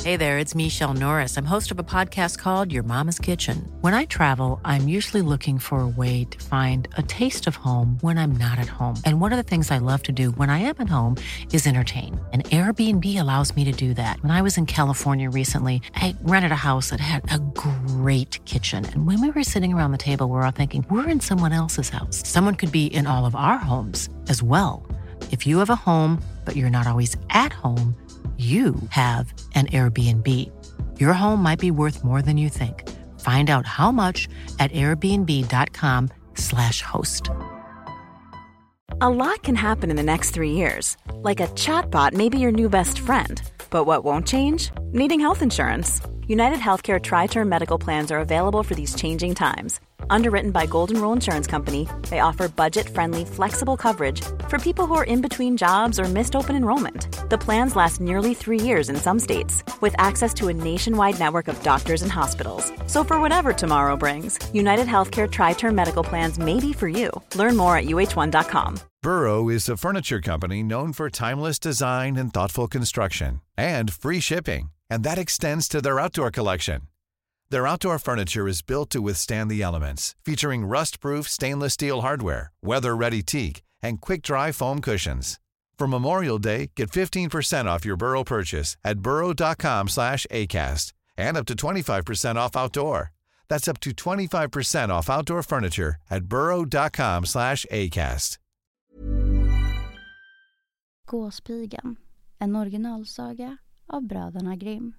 Hey there, it's Michelle Norris. I'm host of a podcast called Your Mama's Kitchen. When I travel, I'm usually looking for a way to find a taste of home when I'm not at home. And one of the things I love to do when I am at home is entertain. And Airbnb allows me to do that. When I was in California recently, I rented a house that had a great kitchen. And when we were sitting around the table, we were all thinking, we're in someone else's house. Someone could be in all of our homes as well. If you have a home, but you're not always at home, you have an Airbnb. Your home might be worth more than you think. Find out how much at airbnb.com/host. A lot can happen in the next 3 years. Like a chatbot may be your new best friend. But what won't change? Needing health insurance. United Healthcare Tri-Term Medical Plans are available for these changing times. Underwritten by Golden Rule Insurance Company, they offer budget-friendly, flexible coverage for people who are in between jobs or missed open enrollment. The plans last nearly 3 years in some states, with access to a nationwide network of doctors and hospitals. So for whatever tomorrow brings, United Healthcare Tri-Term Medical Plans may be for you. Learn more at uh1.com. Burrow is a furniture company known for timeless design and thoughtful construction, and free shipping, and that extends to their outdoor collection. Their outdoor furniture is built to withstand the elements, featuring rust-proof stainless steel hardware, weather-ready teak, and quick-dry foam cushions. For Memorial Day, get 15% off your Burrow purchase at burrow.com/acast, and up to 25% off outdoor. That's up to 25% off outdoor furniture at burrow.com/acast. Gåspigan, en originalsaga av bröderna Grimm.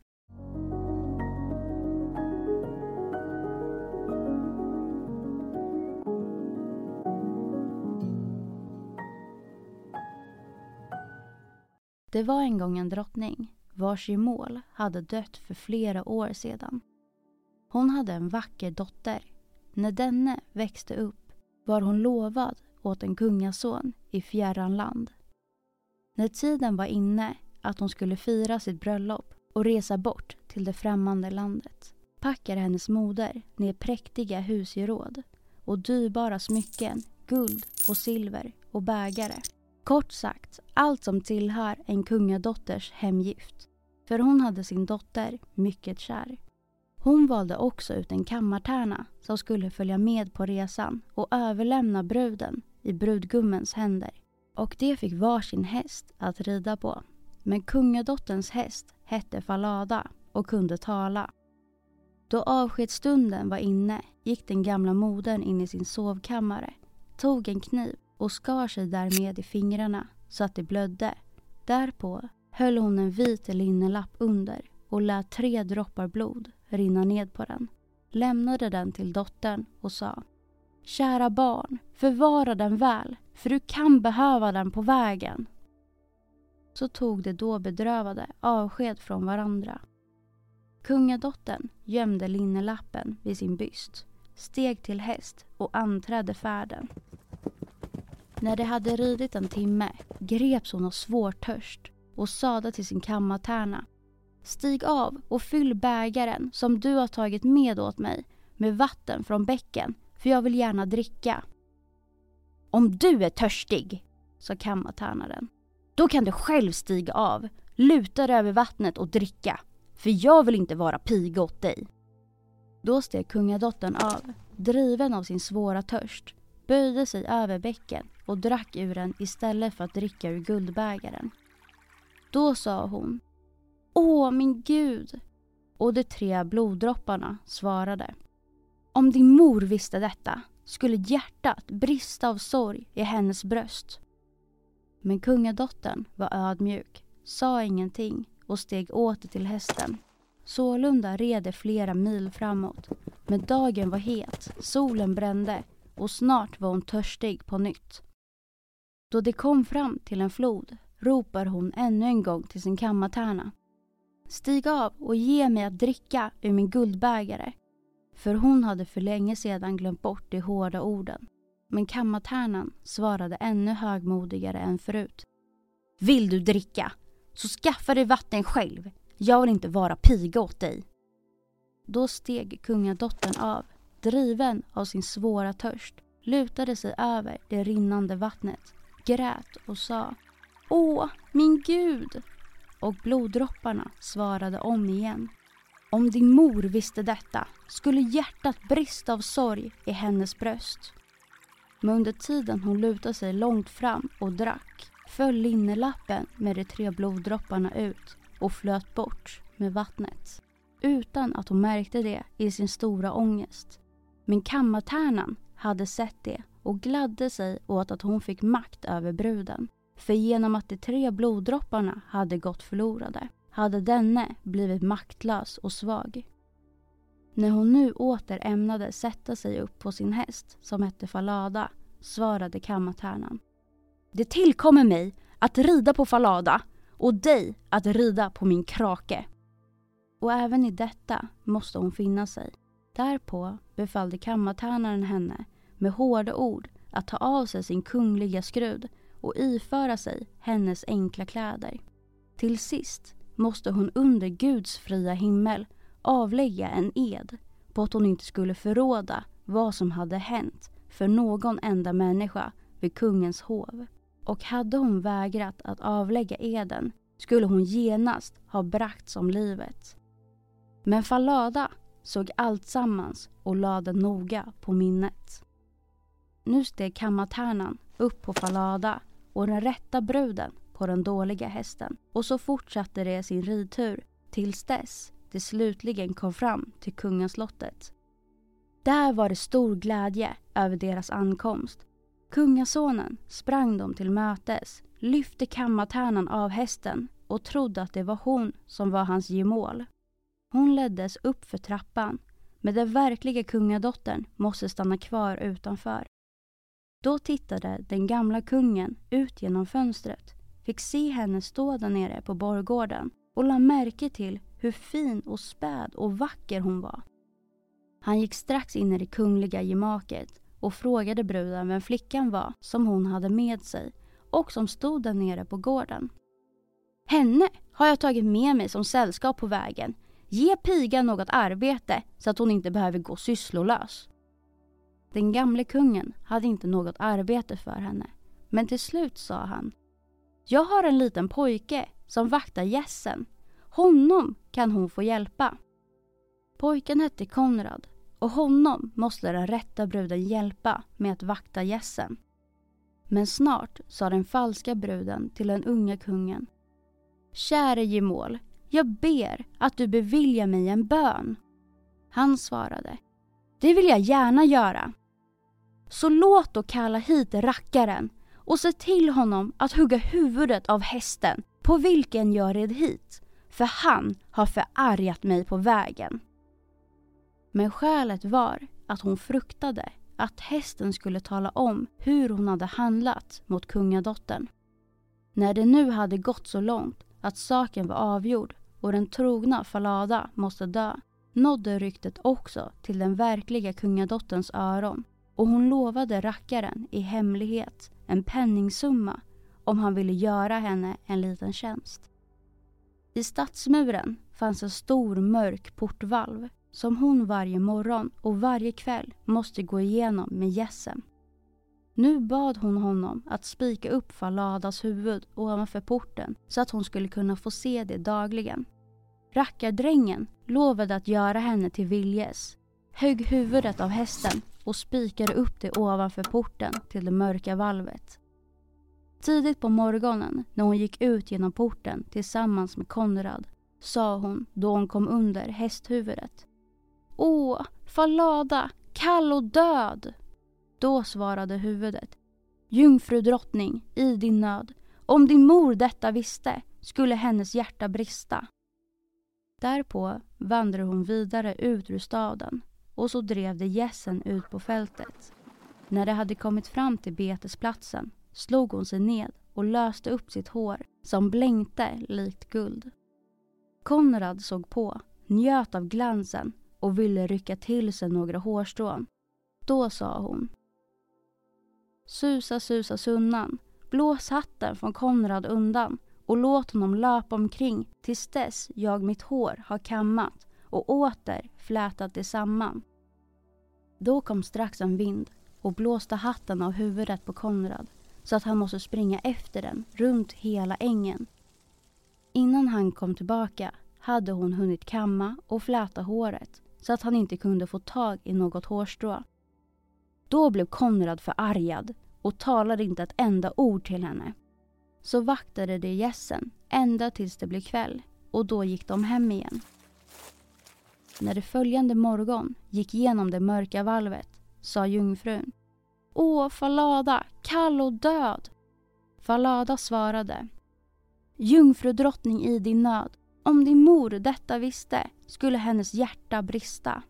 Det var en gång en drottning, vars gemål hade dött för flera år sedan. Hon hade en vacker dotter. När denne växte upp var hon lovad åt en kungason i fjärran land. När tiden var inne att hon skulle fira sitt bröllop och resa bort till det främmande landet, packade hennes moder ner präktiga husgeråd och dyrbara smycken, guld och silver och bägare. Kort sagt, allt som tillhör en kungadotters hemgift. För hon hade sin dotter mycket kär. Hon valde också ut en kammartärna som skulle följa med på resan och överlämna bruden i brudgummens händer. Och det fick varsin häst att rida på. Men kungadotterns häst hette Falada och kunde tala. Då avskedsstunden var inne gick den gamla modern in i sin sovkammare, tog en kniv och skar sig därmed i fingrarna så att det blödde. Därpå höll hon en vit linnelapp under och lät 3 droppar blod rinna ned på den. Lämnade den till dottern och sa: "Kära barn, förvara den väl, för du kan behöva den på vägen." Så tog de då bedrövade avsked från varandra. Kungadottern gömde linnelappen vid sin byst, steg till häst och anträdde färden. När det hade ridit en timme greps hon av svår törst och sade till sin kammartärna: "Stig av och fyll bägaren som du har tagit med åt mig med vatten från bäcken, för jag vill gärna dricka." "Om du är törstig", sa kammartärnaren, "då kan du själv stiga av, luta dig över vattnet och dricka, för jag vill inte vara piga åt dig." Då steg kungadottern av, driven av sin svåra törst, böjde sig över bäcken och drack ur den istället för att dricka ur guldbägaren. Då sa hon: "Åh, min Gud!" Och de 3 bloddropparna svarade: "Om din mor visste detta skulle hjärtat brista av sorg i hennes bröst." Men kungadottern var ödmjuk, sa ingenting och steg åter till hästen. Sålunda red de flera mil framåt, men dagen var het, solen brände och snart var hon törstig på nytt. Då de kom fram till en flod ropar hon ännu en gång till sin kammartärna: "Stig av och ge mig att dricka ur min guldbägare." För hon hade för länge sedan glömt bort de hårda orden. Men kammartärnan svarade ännu högmodigare än förut: "Vill du dricka, så skaffa dig vatten själv. Jag vill inte vara piga åt dig." Då steg kungadottern av, driven av sin svåra törst, lutade sig över det rinnande vattnet, grät och sa: "Åh, min Gud!" och bloddropparna svarade om igen. Om din mor visste detta skulle hjärtat brista av sorg i hennes bröst. Men under tiden hon lutade sig långt fram och drack föll linnelappen med de 3 bloddropparna ut och flöt bort med vattnet. Utan att hon märkte det i sin stora ångest. Men kammartärnan hade sett det och gladde sig åt att hon fick makt över bruden. För genom att de 3 bloddropparna hade gått förlorade hade denne blivit maktlös och svag. När hon nu åter ämnade sätta sig upp på sin häst som hette Falada svarade kammartärnan. Det tillkommer mig att rida på Falada och dig att rida på min krake. Och även i detta måste hon finna sig. Därpå befallde kammartärnaren henne med hårda ord att ta av sig sin kungliga skrud och iföra sig hennes enkla kläder. Till sist måste hon under Guds fria himmel avlägga en ed på att hon inte skulle förråda vad som hade hänt för någon enda människa vid kungens hov. Och hade hon vägrat att avlägga eden skulle hon genast ha bragts om livet. Men Falada såg allt sammans och lade noga på minnet. Nu steg kammartärnan upp på Falada och den rätta bruden på den dåliga hästen. Och så fortsatte det sin ridtur tills dess det slutligen kom fram till kungaslottet. Där var det stor glädje över deras ankomst. Kungasonen sprang dem till mötes, lyfte kammartärnan av hästen och trodde att det var hon som var hans gemål. Hon leddes upp för trappan, men den verkliga kungadottern måste stanna kvar utanför. Då tittade den gamla kungen ut genom fönstret, fick se henne stå där nere på borggården och la märke till hur fin och späd och vacker hon var. Han gick strax in i det kungliga gemaket och frågade bruden vem flickan var som hon hade med sig och som stod där nere på gården. Henne har jag tagit med mig som sällskap på vägen. Ge pigan något arbete så att hon inte behöver gå sysslolös. Den gamle kungen hade inte något arbete för henne, men till slut sa han: jag har en liten pojke som vaktar gässen. Honom kan hon få hjälpa. Pojken hette Konrad och honom måste den rätta bruden hjälpa med att vakta gässen. Men snart sa den falska bruden till den unga kungen: käre gemål, jag ber att du beviljar mig en bön. Han svarade: det vill jag gärna göra. Så låt då kalla hit rackaren och se till honom att hugga huvudet av hästen på vilken jag red hit, för han har förargat mig på vägen. Men skälet var att hon fruktade att hästen skulle tala om hur hon hade handlat mot kungadottern. När det nu hade gått så långt att saken var avgjord och den trogna Falada måste dö, nådde ryktet också till den verkliga kungadotterns öron, och hon lovade rackaren i hemlighet en penningsumma om han ville göra henne en liten tjänst. I stadsmuren fanns en stor mörk portvalv som hon varje morgon och varje kväll måste gå igenom med gässen. Nu bad hon honom att spika upp Faladas huvud ovanför porten så att hon skulle kunna få se det dagligen. Rackardrängen lovade att göra henne till viljes, högg huvudet av hästen och spikade upp det ovanför porten till det mörka valvet. Tidigt på morgonen när hon gick ut genom porten tillsammans med Konrad sa hon då hon kom under hästhuvudet: åh, Falada, kall och död! Då svarade huvudet: jungfru drottning, i din nöd, om din mor detta visste skulle hennes hjärta brista. Därpå vandrade hon vidare ut ur staden och så drev de gässen ut på fältet. När de hade kommit fram till betesplatsen slog hon sig ned och löste upp sitt hår som blänkte likt guld. Konrad såg på, njöt av glansen och ville rycka till sig några hårstrån. Då sa hon: susa, susa sunnan, blås hatten från Konrad undan och låt honom löpa omkring tills dess jag mitt hår har kammat och åter flätat det samman. Då kom strax en vind och blåste hatten av huvudet på Konrad så att han måste springa efter den runt hela ängen. Innan han kom tillbaka hade hon hunnit kamma och fläta håret så att han inte kunde få tag i något hårstrå. Då blev Konrad förargad och talade inte ett enda ord till henne. Så vaktade de gässen ända tills det blev kväll och då gick de hem igen. När det följande morgon gick igenom det mörka valvet sa jungfrun: Åh, Falada, kall och död! Falada svarade: Jungfrudrottning i din nöd, om din mor detta visste skulle hennes hjärta brista.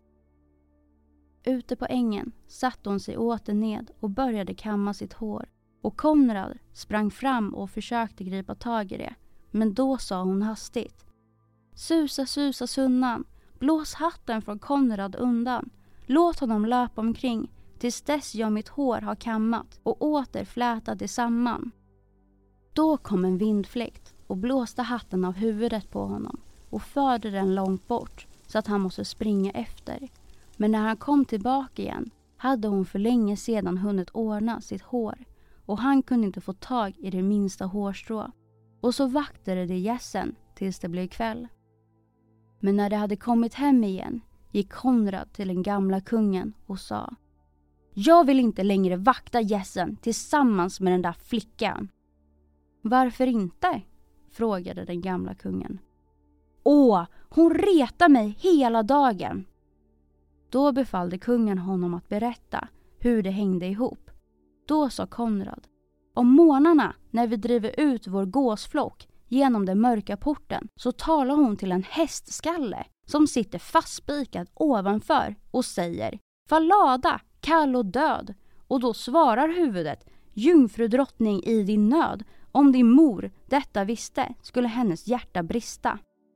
Ute på ängen satte hon sig åter ned och började kamma sitt hår. Och Konrad sprang fram och försökte gripa tag i det. Men då sa hon hastigt: Susa, susa sunnan, blås hatten från Konrad undan. Låt honom löpa omkring tills dess jag mitt hår har kammat och åter flätat det samman. Då kom en vindfläkt och blåste hatten av huvudet på honom och förde den långt bort så att han måste springa efter. Men när han kom tillbaka igen hade hon för länge sedan hunnit ordna sitt hår och han kunde inte få tag i det minsta hårstrå. Och så vaktade de gässen tills det blev kväll. Men när de hade kommit hem igen gick Konrad till den gamla kungen och sa: Jag vill inte längre vakta gässen tillsammans med den där flickan. Varför inte? Frågade den gamla kungen. Åh, hon retar mig hela dagen. Då befallde kungen honom att berätta hur det hängde ihop. Då sa Konrad: Om morgnarna när vi driver ut vår gåsflock genom den mörka porten så talar hon till en hästskalle som sitter fastspikad ovanför och säger: Falada, kall och död. Och då svarar huvudet: Jungfrudrottning i din nöd, om din mor detta visste skulle hennes hjärta brista.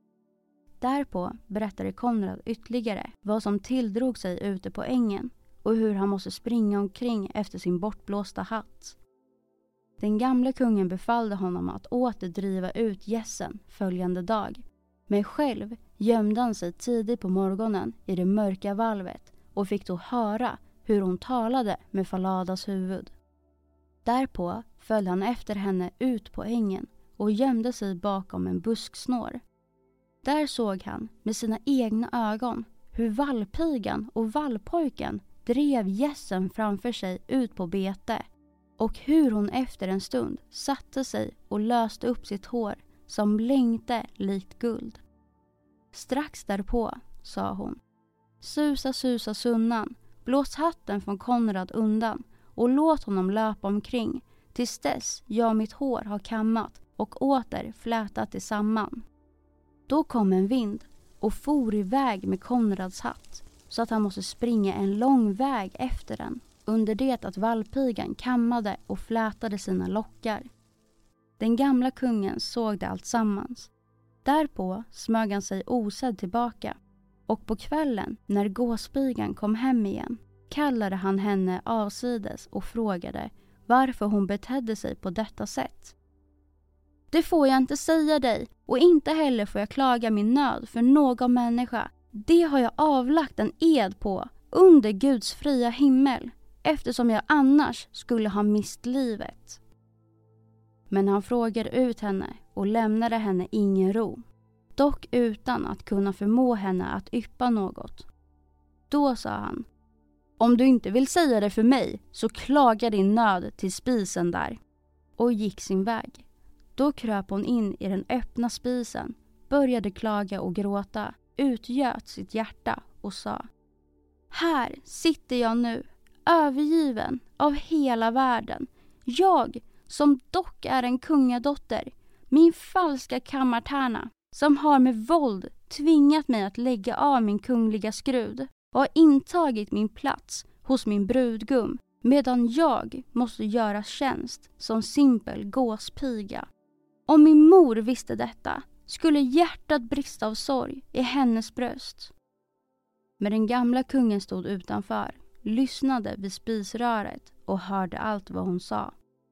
Därpå berättade Konrad ytterligare vad som tilldrog sig ute på ängen och hur han måste springa omkring efter sin bortblåsta hatt. Den gamla kungen befallde honom att åter driva ut gässen följande dag. Men själv gömde han sig tidigt på morgonen i det mörka valvet och fick då höra hur hon talade med Faladas huvud. Därpå följde han efter henne ut på ängen och gömde sig bakom en busksnår. Där såg han med sina egna ögon hur vallpigan och vallpojken drev gässen framför sig ut på bete och hur hon efter en stund satte sig och löste upp sitt hår som blänkte likt guld. Strax därpå sa hon: Susa, susa sunnan, blås hatten från Konrad undan och låt honom löpa omkring tills dess jag mitt hår har kammat och åter flätat det samman. Då kom en vind och for iväg med Konrads hatt så att han måste springa en lång väg efter den under det att vallpigan kammade och flätade sina lockar. Den gamla kungen såg det allt sammans. Därpå smög han sig osedd tillbaka och på kvällen när gåspigan kom hem igen kallade han henne avsides och frågade varför hon betedde sig på detta sätt. Det får jag inte säga dig och inte heller får jag klaga min nöd för någon människa. Det har jag avlagt en ed på under Guds fria himmel eftersom jag annars skulle ha mist livet. Men han frågade ut henne och lämnade henne ingen ro, dock utan att kunna förmå henne att yppa något. Då sa han: Om du inte vill säga det för mig så klagar din nöd till spisen där, och gick sin väg. Då kröp hon in i den öppna spisen, började klaga och gråta, utgöt sitt hjärta och sa: Här sitter jag nu, övergiven av hela världen. Jag, som dock är en kungadotter, min falska kammartärna, som har med våld tvingat mig att lägga av min kungliga skrud och har intagit min plats hos min brudgum, medan jag måste göra tjänst som simpel gåspiga. Om min mor visste detta skulle hjärtat brista av sorg i hennes bröst. Men den gamla kungen stod utanför, lyssnade vid spisröret och hörde allt vad hon sa.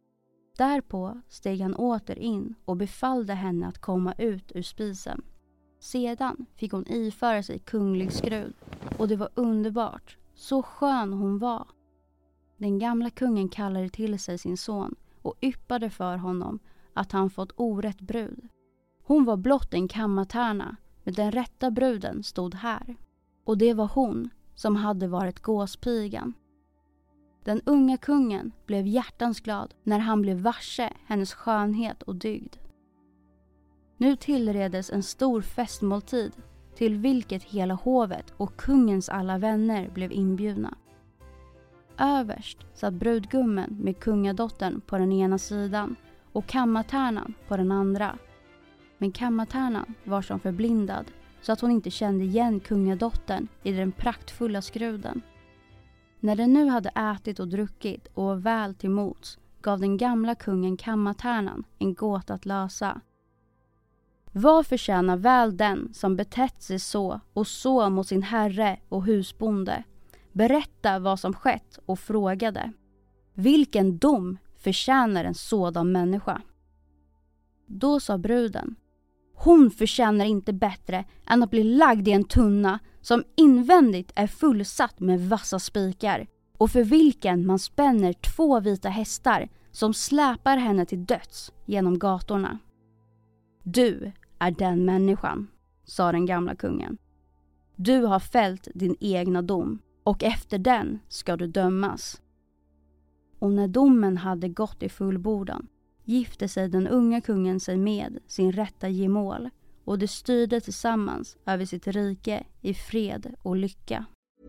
Därpå steg han åter in och befallde henne att komma ut ur spisen. Sedan fick hon iföra sig kunglig skrud och det var underbart, så skön hon var. Den gamla kungen kallade till sig sin son och yppade för honom att han fått orätt brud. Hon var blott en kammartärna, men den rätta bruden stod här. Och det var hon som hade varit gåspigan. Den unga kungen blev hjärtans glad när han blev varse hennes skönhet och dygd. Nu tillredes en stor festmåltid till vilket hela hovet och kungens alla vänner blev inbjudna. Överst satt brudgummen med kungadottern på den ena sidan och kammartärnan på den andra. Men kammartärnan var som förblindad så att hon inte kände igen kungadottern i den praktfulla skruden. När den nu hade ätit och druckit och var väl till mots gav den gamla kungen kammartärnan en gåta att lösa. Vad förtjänar väl den som betett sig så mot sin herre och husbonde? Berätta vad som skett och frågade. Vilken dom förtjänar en sådan människa? Då sa bruden: hon förtjänar inte bättre än att bli lagd i en tunna som invändigt är fullsatt med vassa spikar och för vilken man spänner 2 vita hästar som släpar henne till döds genom gatorna. Du är den människan, sa den gamla kungen. Du har fällt din egna dom och efter den ska du dömas. Och när domen hade gått i fullbordan gifte sig den unga kungen sig med sin rätta gemål och de styrde tillsammans över sitt rike i fred och lycka.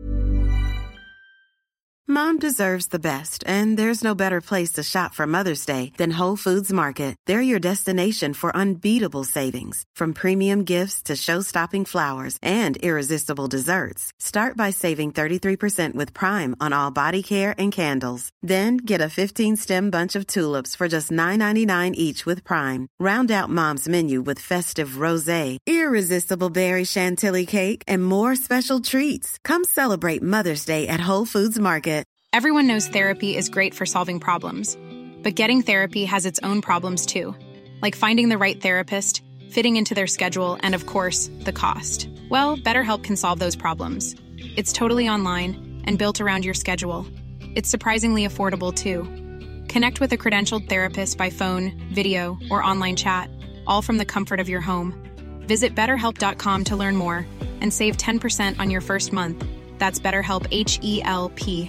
Mom deserves the best, and there's no better place to shop for Mother's Day than Whole Foods Market. They're your destination for unbeatable savings, from premium gifts to show-stopping flowers and irresistible desserts. Start by saving 33% with Prime on all body care and candles. Then get a 15-stem bunch of tulips for just $9.99 each with Prime. Round out Mom's menu with festive rosé, irresistible berry chantilly cake, and more special treats. Come celebrate Mother's Day at Whole Foods Market. Everyone knows therapy is great for solving problems, but getting therapy has its own problems too, like finding the right therapist, fitting into their schedule, and of course, the cost. Well, BetterHelp can solve those problems. It's totally online and built around your schedule. It's surprisingly affordable too. Connect with a credentialed therapist by phone, video, or online chat, all from the comfort of your home. Visit BetterHelp.com to learn more and save 10% on your first month. That's BetterHelp, H-E-L-P.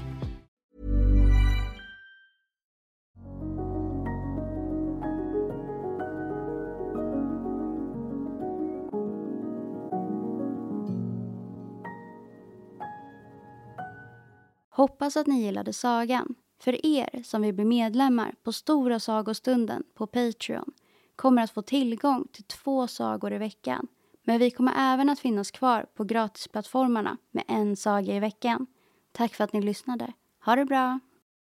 Hoppas att ni gillade sagan. För er som vill bli medlemmar på Stora sagostunden på Patreon kommer att få tillgång till 2 sagor i veckan. Men vi kommer även att finnas kvar på gratisplattformarna med 1 saga i veckan. Tack för att ni lyssnade. Ha det bra!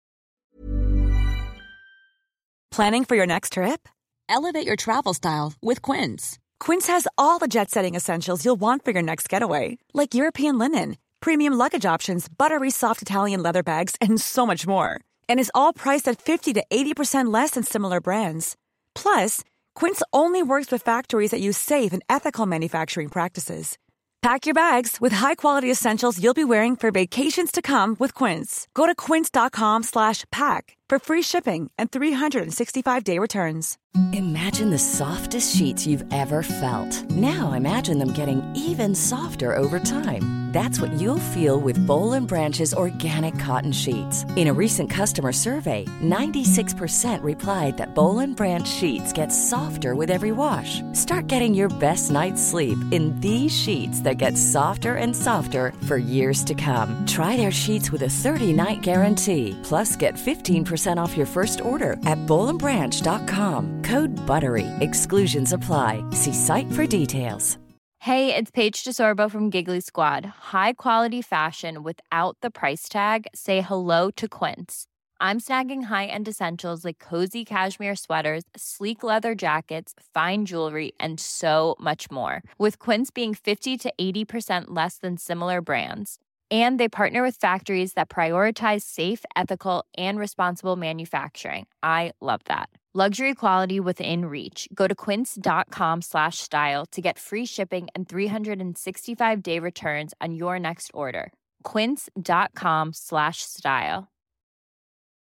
Planning for your next trip? Elevate your travel style with Quince. Quince has all the jet-setting essentials you'll want for your next getaway, like European linen, premium luggage options, buttery soft Italian leather bags, and so much more. And is all priced at 50 to 80% less than similar brands. Plus, Quince only works with factories that use safe and ethical manufacturing practices. Pack your bags with high-quality essentials you'll be wearing for vacations to come with Quince. Go to quince.com/pack for free shipping and 365-day returns. Imagine the softest sheets you've ever felt. Now imagine them getting even softer over time. That's what you'll feel with Boll & Branch's organic cotton sheets. In a recent customer survey, 96% replied that Boll & Branch sheets get softer with every wash. Start getting your best night's sleep in these sheets that get softer and softer for years to come. Try their sheets with a 30-night guarantee. Plus, get 15% off your first order at bollandbranch.com. Code BUTTERY. Exclusions apply. See site for details. Hey, it's Paige DeSorbo from Giggly Squad. High quality fashion without the price tag. Say hello to Quince. I'm snagging high-end essentials like cozy cashmere sweaters, sleek leather jackets, fine jewelry, and so much more. With Quince being 50 to 80% less than similar brands. And they partner with factories that prioritize safe, ethical, and responsible manufacturing. I love that. Luxury quality within reach. Go to quince.com/style to get free shipping and 365-day returns on your next order. Quince.com/style.